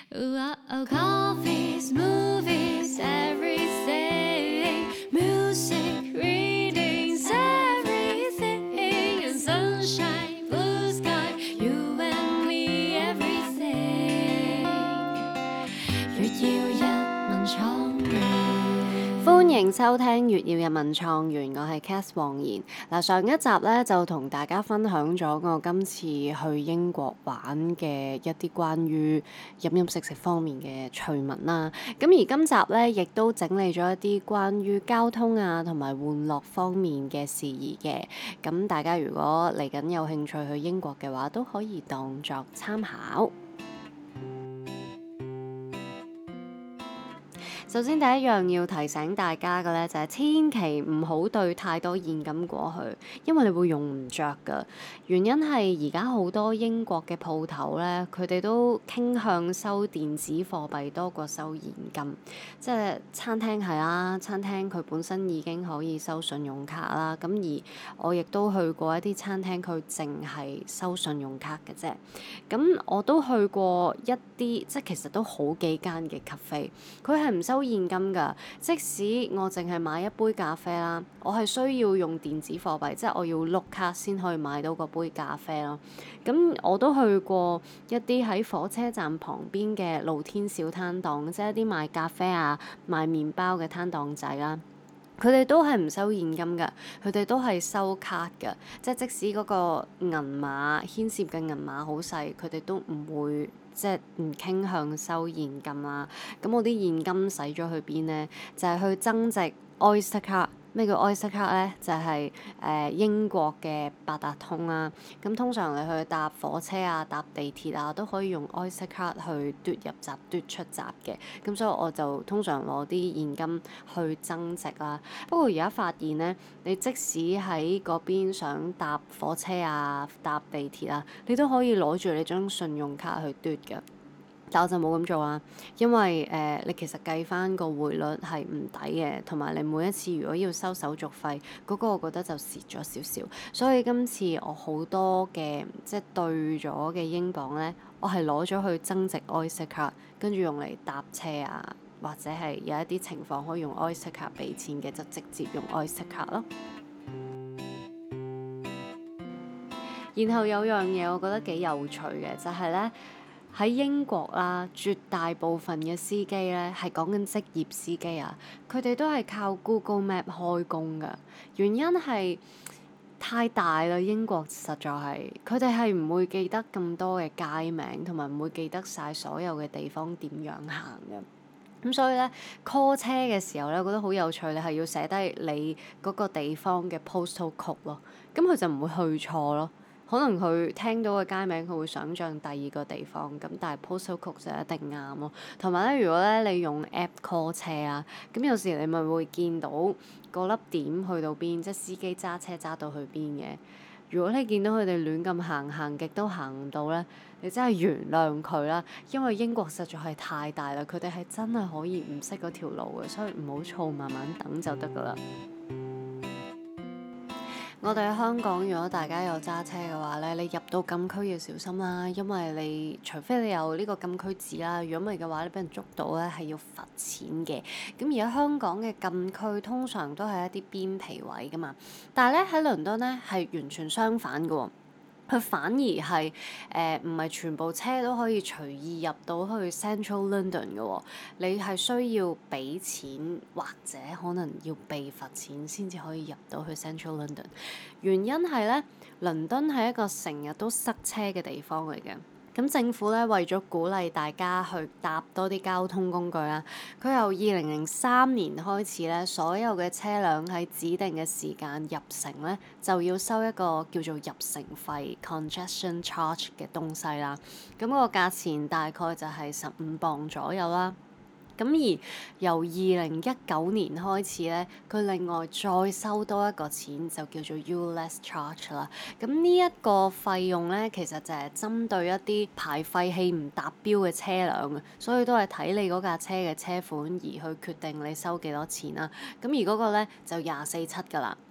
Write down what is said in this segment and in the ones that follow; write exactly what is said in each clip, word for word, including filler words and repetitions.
Ooh, oh, coffees, movies, everything. Music, readings, everything. And sunshine, blue sky, you and me, everything. 月耀日文創園。歡迎收聽《月耀日文創園》，我係 Cath 黃妍。嗱，上一集咧就同大家分享咗我今次去英國玩嘅一啲關於飲飲食食方面嘅趣聞啦。咁而今集咧亦都整理咗一啲關於交通啊同埋玩樂方面嘅事宜嘅。咁大家如果嚟緊有興趣去英國嘅話，都可以當作參考。首先第一樣要提醒大家嘅咧，就係千祈唔好對太多現金過去，因為你會用唔着㗎。原因係而家好多英國嘅鋪頭咧，佢哋都傾向收電子貨幣多過收現金。即係餐廳係啦，餐廳佢本身已經可以收信用卡啦。咁而我亦都去過一啲餐廳，佢淨係收信用卡嘅啫。咁我都去過一啲，即係其實都好幾間嘅 cafe，佢係唔收現金㗎。即使我淨係買一杯咖啡啦，我係需要用電子貨幣，即係我要碌卡先可以買到嗰杯咖啡咯。咁我都去過一啲喺火車站旁邊嘅露天小攤檔，即係一啲賣咖啡啊、賣麵包嘅攤檔仔啦。佢哋都係唔收現金㗎，佢哋都係收卡㗎。即係即使嗰個銀碼牽涉嘅銀碼好細，佢哋都唔會即係唔傾向收現金啦。咁我啲現金使咗去邊咧？就係去增值 Oyster card。咩叫 Oyster card 咧？就係誒英國嘅八達通啦。咁通常你去搭火車啊、搭地鐵啊，都可以用 Oyster card 去嘟入閘、嘟出閘嘅。咁所以我就通常攞啲現金去增值啦。不過而家發現咧，你即使喺嗰邊想搭火車啊、搭地鐵啊，你都可以攞住你張信用卡去嘟嘅。但我就冇咁做啦，因為誒、呃、你其實計翻個匯率係唔抵嘅，同埋你每一次如果要收手續費，嗰、那個我覺得就蝕咗少少。所以今次我好多嘅即係兌咗嘅英鎊咧，我係攞咗去增值 Oyster card，跟住用嚟搭車啊，或者係有一啲情況可以用 Oyster card 俾錢嘅，就直接用 Oyster card 咯。然後有樣嘢我覺得幾有趣嘅，就係咧。喺英國啦，絕大部分嘅司機咧係講緊職業司機啊，佢哋都係靠 Google Map 開工㗎。原因係太大啦，英國實在係佢哋係唔會記得咁多嘅街名，同埋唔會記得晒所有嘅地方點樣行嘅。咁所以咧 call 車嘅時候咧，我覺得好有趣，你係要寫低你嗰個地方嘅 postal code 咯，咁佢就唔會去錯咯。可能佢聽到嘅街名，佢會想像第二個地方，咁但係 postal code 就一定啱咯。同埋咧，如果咧你用 app call 車啊，咁有時你咪會見到嗰粒點去到邊，即係司機揸車揸到去邊嘅。如果你見到佢哋亂咁行，行極都行唔到咧，你真係原諒佢啦，因為英國實在係太大啦，佢哋係真係可以唔識嗰條路嘅，所以唔好躁，慢慢等就得噶啦。我哋喺香港，如果大家有揸車嘅話咧，你入到禁區要小心啦，因為你除非你有呢個禁區紙啦，如果唔係嘅話，你俾人捉到咧係要罰錢嘅。咁而家香港嘅禁區通常都係一啲邊皮位噶嘛，但係咧喺倫敦咧係完全相反嘅喎。佢反而係誒唔係全部車都可以隨意入到去 Central London 嘅喎，你係需要俾錢或者可能要被罰錢先至可以入到去 Central London。原因係咧，倫敦係一個成日都塞車嘅地方嚟嘅。咁政府咧為咗鼓勵大家去搭多啲交通工具啦，佢由二零零三年開始咧，所有嘅車輛喺指定嘅時間入城咧，就要收一個叫做入城費 （congestion charge） 嘅東西啦。咁個價錢大概就係十五磅左右啦。咁而由二零一九年開始咧，佢另外再收多一個錢，就叫做 ULEZ Charge 啦。咁呢一個費用咧，其實就係針對一啲排廢氣唔達標嘅車輛嘅，所以都係睇你嗰架車嘅車款而去決定你收幾多錢啦。咁而嗰個咧就廿四七㗎啦。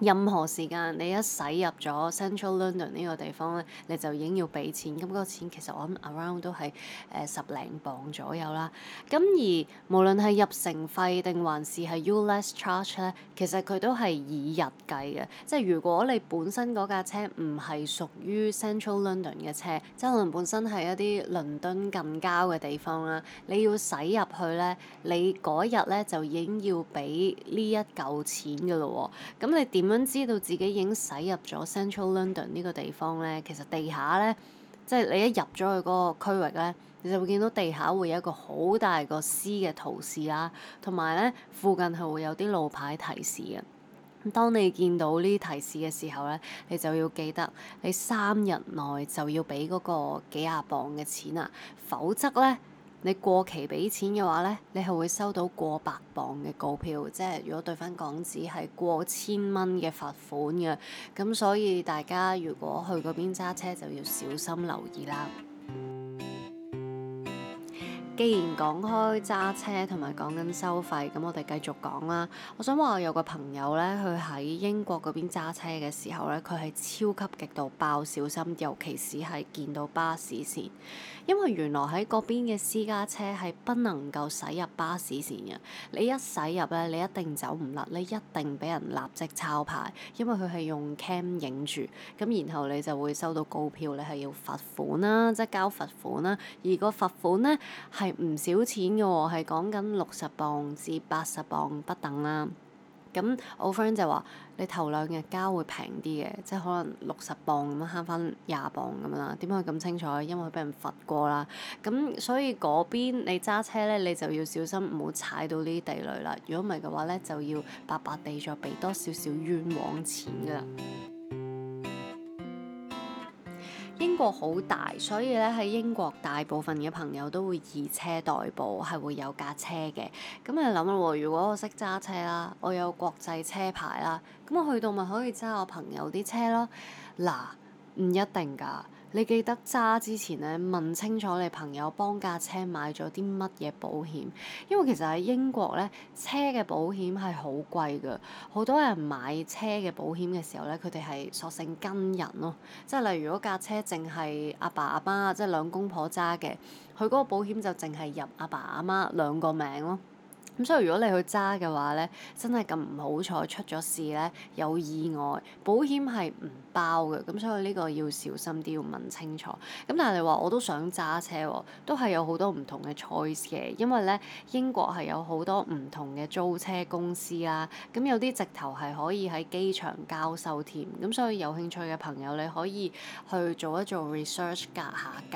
任何時間你一駛入咗 Central London 呢個地方咧，你就已經要俾錢。咁嗰個錢其實我諗 around 都係誒十零磅左右啦。咁而無論係入城費定還是係 ULEZ charge 咧，其實佢都係以日計嘅。即係如果你本身嗰架車唔係屬於 Central London 嘅車，即係可能本身係一啲倫敦近郊嘅地方啦，你要駛入去咧，你嗰日咧就已經要俾呢一嚿錢㗎咯喎。咁你點點樣知道自己已經駛入咗 Central London 呢個地方咧？其實地下咧，即係你一入咗去嗰個區域咧，你就會見到地下會有一個好大個 C 嘅圖示啦，同埋咧附近係會有啲路牌提示嘅。咁當你見到呢啲提示嘅時候咧，你就要記得你三日內就要俾嗰個幾廿磅嘅錢啊，否則咧，你過期俾錢嘅話咧，你係會收到過百磅嘅告票，即係如果對翻港紙係過千蚊嘅罰款嘅。咁所以大家如果去嗰邊揸車就要小心留意啦。既然講開揸車同埋講緊收費，咁我哋繼續講啦。我想話我有個朋友咧，佢喺英國嗰邊揸車嘅時候咧，佢係超級極度爆小心，尤其是係見到巴士線，因為原來喺嗰邊嘅私家車係不能夠駛入巴士線嘅。你一駛入咧，你一定走唔甩，你一定俾人立即抄牌，因為佢係用 cam 影住，咁然後你就會收到告票，你係要罰款啦，即係交罰款啦。而個罰款咧係唔少錢嘅喎，係講緊六十磅至八十磅不等啦。咁我 friend 就話：你頭兩日交會平啲嘅，即係可能六十磅咁樣慳翻廿磅咁樣啦。點解佢咁清楚？因為佢俾人罰過啦。咁所以嗰邊你揸車咧，你就要小心唔好踩到呢啲地雷啦。如果唔係嘅話咧，就要白白地再俾多少少冤枉錢㗎啦。英國好大，所以咧喺英國大部分嘅朋友都會以車代步，係會有架車嘅。咁你諗啦喎，如果我識揸車啦，我有國際車牌啦，咁我去到咪可以揸我朋友啲車咯？嗱，唔一定㗎。你記得揸之前咧，問清楚你朋友幫架車買咗啲乜嘢保險，因為其實喺英國咧，車嘅保險係好貴㗎。好多人買車嘅保險嘅時候咧，佢哋係索性跟人咯，即係例如如果架車淨係阿爸阿媽，即係兩公婆揸嘅，佢嗰個保險就淨係入阿爸阿媽兩個名咯。咁所以如果你去揸嘅話咧，真係咁唔好彩出咗事咧，有意外，保險係唔包嘅。咁所以呢個要小心啲，要問清楚。咁但係你話我都想揸車喎，都係有好多唔同嘅 choice 嘅，因為咧英國係有好多唔同嘅租車公司啦。咁有啲直頭係可以喺機場交收添。咁所以有興趣嘅朋友你可以去做一做 research，格下價。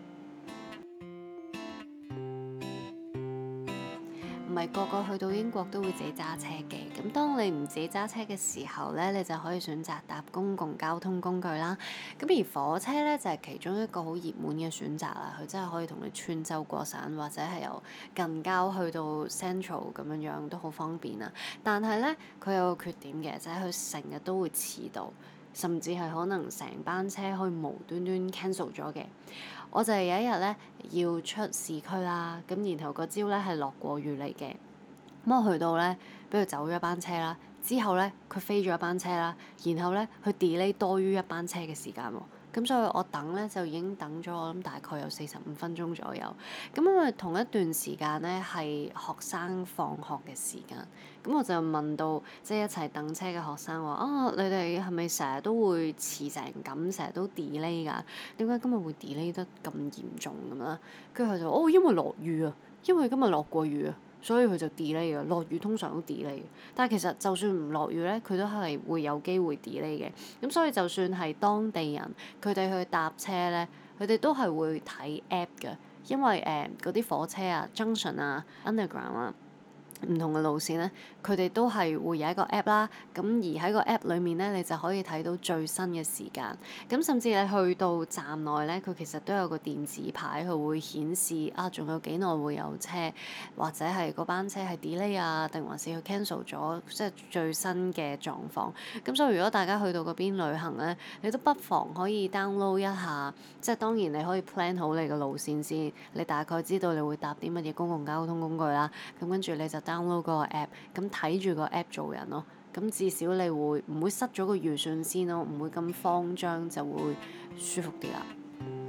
唔係個個去到英國都會自己揸車嘅，咁當你唔自己揸車嘅時候咧，你就可以選擇搭公共交通工具啦。咁而火車咧就係其中一個好熱門嘅選擇啦，佢真係可以同你穿州過省，或者係由近郊去到 Central 咁樣樣都好方便啊。但係咧佢有個缺點嘅，就係佢成日都會遲到，甚至係可能成班車可以無端端 cancel 咗嘅。我就係有一日咧要出市區啦，咁然後個朝咧係落過雨嚟嘅，咁我去到咧，俾佢走咗一班車啦，之後咧佢飛咗一班車啦，然後咧佢 delay 多於一班車嘅時間喎。咁所以我等咧就已經等咗我諗大概有四十五分鐘左右。咁因為同一段時間咧係學生放學嘅時間，咁我就問到即係一齊等車嘅學生話：啊，你哋係咪成日都會遲成咁，成日都 delay 㗎？點解今日會 delay 得咁嚴重咁啦？跟住佢就哦，因為落雨啊，因為今日落過雨啊。所以佢就 delay 嘅，落雨通常都 delay 嘅。但係其實就算唔落雨咧，佢都係會有機會 delay 嘅。咁所以就算係當地人，佢哋去搭車咧，佢哋都係會睇 app 嘅，因為誒嗰啲火車啊、junction 啊、underground 啊，唔同嘅路線咧，佢哋都係會有一個 app 啦。咁而喺個 app 裏面咧，你就可以睇到最新嘅時間。咁甚至你去到站內咧，佢其實都有個電子牌，佢會顯示啊，仲有幾耐會有車，或者係嗰班車係 delay 啊，定還是佢 cancel 咗，即係最新嘅狀況。咁所以如果大家去到嗰邊旅行咧，你都不妨可以 download 一下，即係當然你可以 plan 好你嘅路線先，你大概知道你會搭啲乜嘢公共交通工具啦。咁跟住你就 download 嗰個 app，咁睇住個 app 做人咯。 咁至少你會唔會失咗個預算先咯？唔會咁慌張，就會舒服啲啦。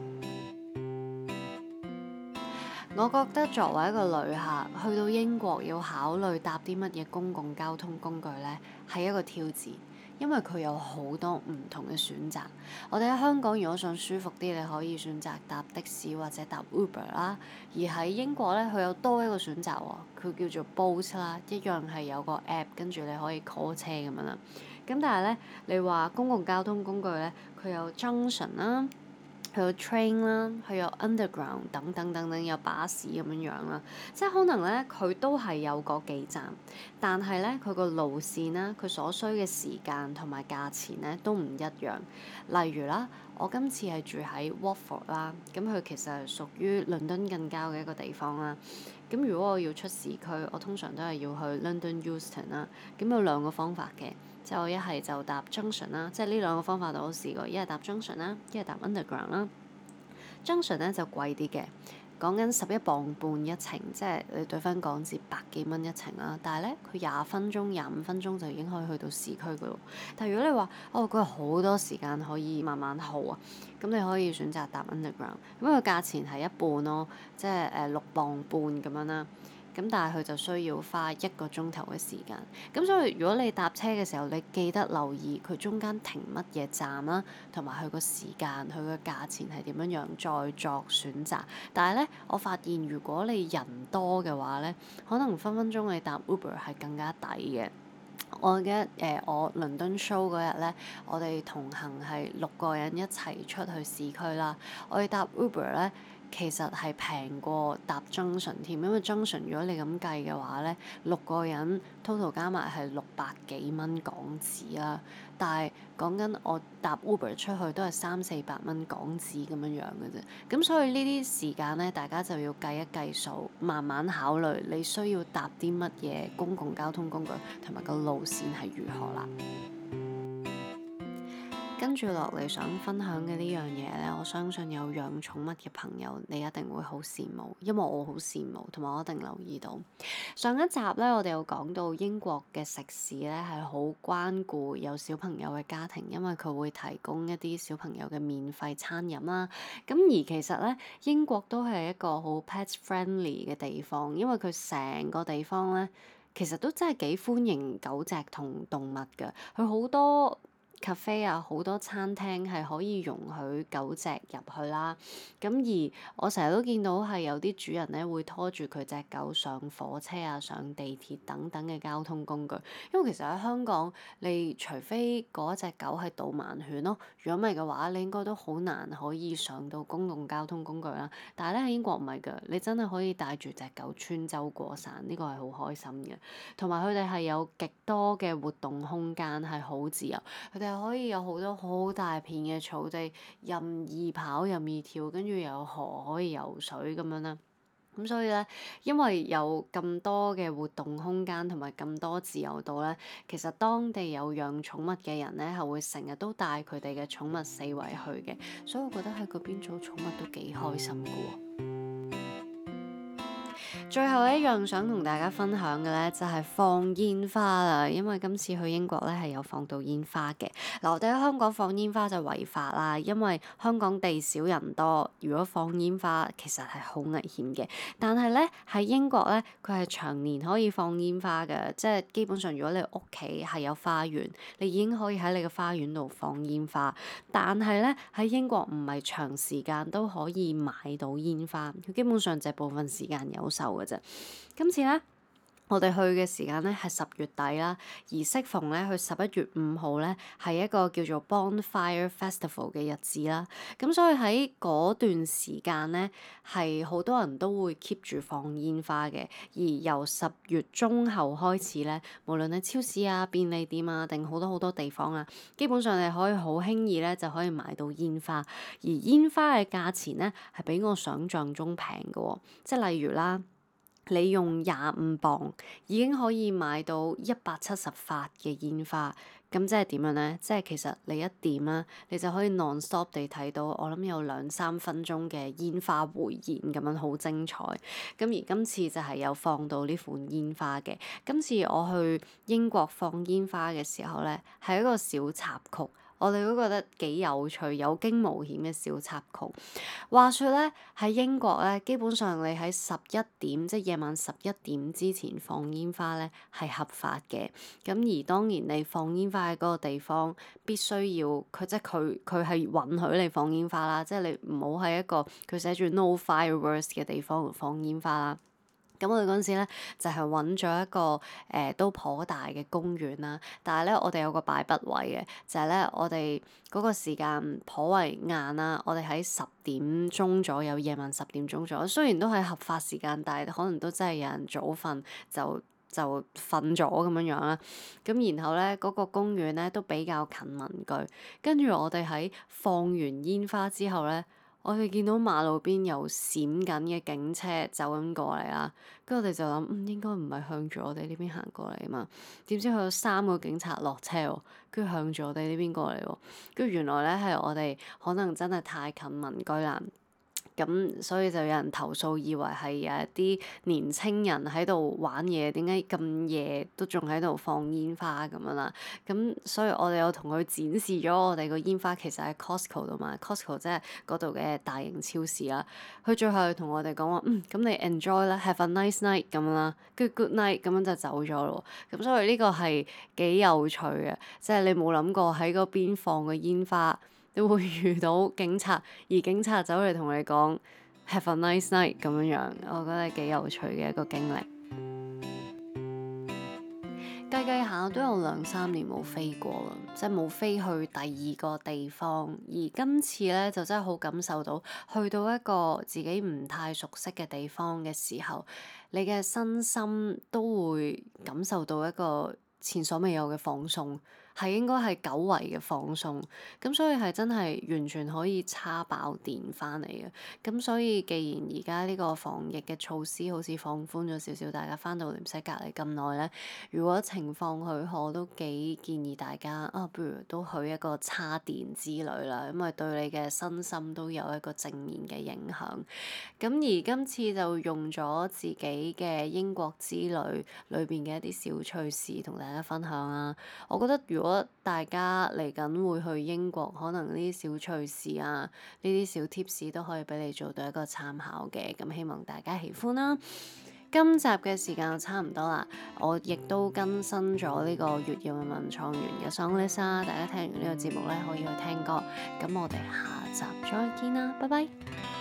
我覺得作為一個旅客去到英國要考慮搭啲乜嘢公共交通工具呢，係一個挑戰，因為佢有好多唔同嘅選擇。我哋喺香港如果想舒服啲，你可以選擇搭的士或者搭 Uber 啦。而喺英國咧，佢有多一個選擇喎，佢叫做 Bolt 啦，一樣係有個 app，跟住你可以 call 車咁樣啦。咁但係咧，你話公共交通工具咧，佢有 Junction 啦。佢有 train 啦，佢有 underground 等等等等，有巴士咁樣樣啦，即係可能咧佢都係有個幾站，但係咧佢個路線啦，佢所需嘅時間同埋價錢咧都唔一樣。例如啦，我今次係住喺 Watford 啦，咁佢其實係屬於倫敦近郊嘅一個地方啦。咁如果我要出市區，我通常都係要去 London Euston 啦。咁有兩個方法嘅，即係我一係就搭 Junction 啦，即係呢兩個方法我都試過，一係搭 Junction 啦，一係搭 Underground 啦。Junction 咧就貴啲嘅，講緊十一磅半一程，即係你對翻港紙百幾蚊一程啦。但係咧，佢廿分鐘、廿五分鐘就已經可以去到市區嗰度。但係如果你話哦，佢有好多時間可以慢慢耗啊，咁你可以選擇搭 Underground，咁個價錢係一半咯，即係誒六磅半咁樣啦。咁但係佢就需要花一個鐘頭嘅時間。咁所以如果你搭車嘅時候，你記得留意佢中間停乜嘢站啦，同埋佢個時間、佢個價錢係點樣樣，再作選擇。但係咧，我發現如果你人多嘅話咧，可能分分鐘你搭 Uber 係更加抵嘅。我記得誒、呃，我倫敦 show 嗰日咧，我哋同行係六個人一齊出去市區啦。我哋搭 Uber 咧。其實係平過搭 Junction 添，因為 Junction 如果你咁計嘅話咧，六個人 total 加埋係六百幾蚊港紙啦。但係講緊我搭 Uber 出去都係三四百蚊港紙咁樣樣嘅啫。咁所以呢啲時間咧，大家就要計一計數，慢慢考慮你需要搭啲乜嘢公共交通工具，同埋個路線係如何啦。跟住落嚟想分享嘅呢樣嘢咧，我相信有養寵物嘅朋友，你一定會好羨慕，因為我好羨慕，同埋我一定留意到。上一集咧，我哋有講到英國嘅食肆咧係好關顧有小朋友嘅家庭，因為佢會提供一啲小朋友嘅免費餐飲啦。咁而其實咧，英國都係一個好 pet friendly 嘅地方，因為佢成個地方咧，其實都真係幾歡迎狗隻同動物㗎，佢好多cafe 啊，好多餐廳係可以容許狗隻入去啦。咁而我成日都見到係有啲主人咧會拖住佢隻狗上火車啊、上地鐵等等嘅交通工具。因為其實喺香港，你除非嗰隻狗係導盲犬咯，如果唔係嘅話，你應該都好難可以上到公共交通工具啦。但係咧喺英國唔係㗎，你真係可以帶住隻狗穿州過省，呢個係好開心嘅。同埋佢哋係有極多嘅活動空間，係好自由。佢哋可以有好多好大片嘅草地，任意跑任意跳，跟住又有河可以游水咁樣啦。咁所以咧，因為有咁多嘅活動空間同埋咁多自由度咧，其實當地有養寵物嘅人咧，係會成日都帶佢哋嘅寵物四圍去嘅，所以我覺得喺嗰邊做寵物都幾開心㗎喎。最後一樣想同大家分享嘅咧，就係放煙花啦。因為今次去英國咧係有放到煙花嘅。嗱，我哋喺香港放煙花就違法啦，因為香港地少人多，如果放煙花其實係好危險嘅。但係咧喺英國咧，佢係長年可以放煙花嘅，即係基本上如果你屋企係有花園，你已經可以喺你嘅花園度放煙花。但係咧喺英國唔係長時間都可以買到煙花，佢基本上就係部分時間有售嘅啫。今次咧，我哋去嘅時間咧係十月底啦，而適逢咧去十一月五號咧係一個叫做 Bonfire Festival 嘅日子啦。咁所以喺嗰段時間咧係好多人都會 keep 住放煙花嘅。而由十月中後開始咧，無論係超市啊、便利店啊，定好多好多地方啊，基本上你可以好輕易咧就可以買到煙花。而煙花嘅價錢咧係比我想象中平嘅喎，即係例如啦。你用廿五磅已經可以買到一百七十發嘅煙花， 咁即係點樣呢？即係其實你一點啦，你就可以 non-stop 地睇到，我諗有兩三分鐘嘅煙花匯演咁樣，好精彩。咁而今次就係有放到呢款煙花嘅。今次我去英國放煙花嘅時候咧，係一個小插曲。我哋都覺得幾有趣、有驚無險嘅小插曲。話說咧，喺英國咧，基本上你喺十一點，即係夜晚十一點之前放煙花咧，係合法嘅。咁而當然你放煙花喺嗰個地方，必須要佢即係佢佢係允許你放煙花啦，即係你唔好喺一個佢寫住 no fireworks 嘅地方放煙花啦。咁我哋嗰陣時咧就係揾咗一個誒、呃、都頗大嘅公園啦，但係咧我哋有個敗筆位嘅，就係、是、咧我哋嗰個時間頗為晏啦，我哋喺十點鐘左右，夜晚十點鐘左右，雖然都係合法時間，但係可能都真係有人早瞓就就瞓咗咁樣樣啦。咁然後咧嗰、那個公園咧都比較近民居，跟住我哋喺放完煙花之後咧，我哋見到馬路邊有閃緊嘅警車走緊過嚟啦，跟住我哋就諗，嗯，應該唔係向住我哋呢邊行過嚟啊嘛。點知佢有三個警察落車喎，跟住向住我哋呢邊過嚟喎，跟住原來咧係我哋可能真係太近民居啦。咁所以就有人投訴，以為係有一啲年青人喺度玩嘢，點解咁夜都仲喺度放煙花咁樣啦？咁所以我哋有同佢展示咗我哋個煙花，其實喺 Costco 度買，Costco 即係嗰度嘅大型超市啦。佢最後同我哋講話，嗯，咁你 enjoy 啦，have a nice night 咁樣啦，跟住 good night 咁樣就走咗咯。咁所以呢個係幾有趣嘅，即係你冇諗過喺嗰邊放個煙花，你會遇到警察，而警察走嚟同你講 have a nice night 咁樣樣，我覺得係幾有趣嘅一個經歷。計計下都有兩三年冇飛過啦，即係冇飛去第二個地方。而今次咧就真係好感受到，去到一個自己唔太熟悉嘅地方嘅時候，你嘅身心都會感受到一個前所未有嘅放鬆。係應該係久違嘅放鬆，咁所以係真係完全可以叉爆電翻嚟嘅。咁所以既然而家呢個防疫嘅措施好似放寬咗少少，大家翻到嚟唔使隔離咁耐咧，如果情況許可，都幾建議大家啊，不如都去一個叉電之旅啦，因為對你嘅身心都有一個正面嘅影響。咁而今次就用咗自己嘅英國之旅裏邊嘅一啲小趣事同大家分享啦。我覺得如果如果大家嚟緊會去英國，可能呢啲小趣事啊，呢啲小 tips 都可以俾你做到一個參考嘅。咁希望大家喜歡啦。今集嘅時間就差唔多啦，我亦都更新咗呢個月曜日文創園嘅 song list 啦。大家聽完呢個節目咧，可以去聽歌。咁我哋下集再見啦，拜拜。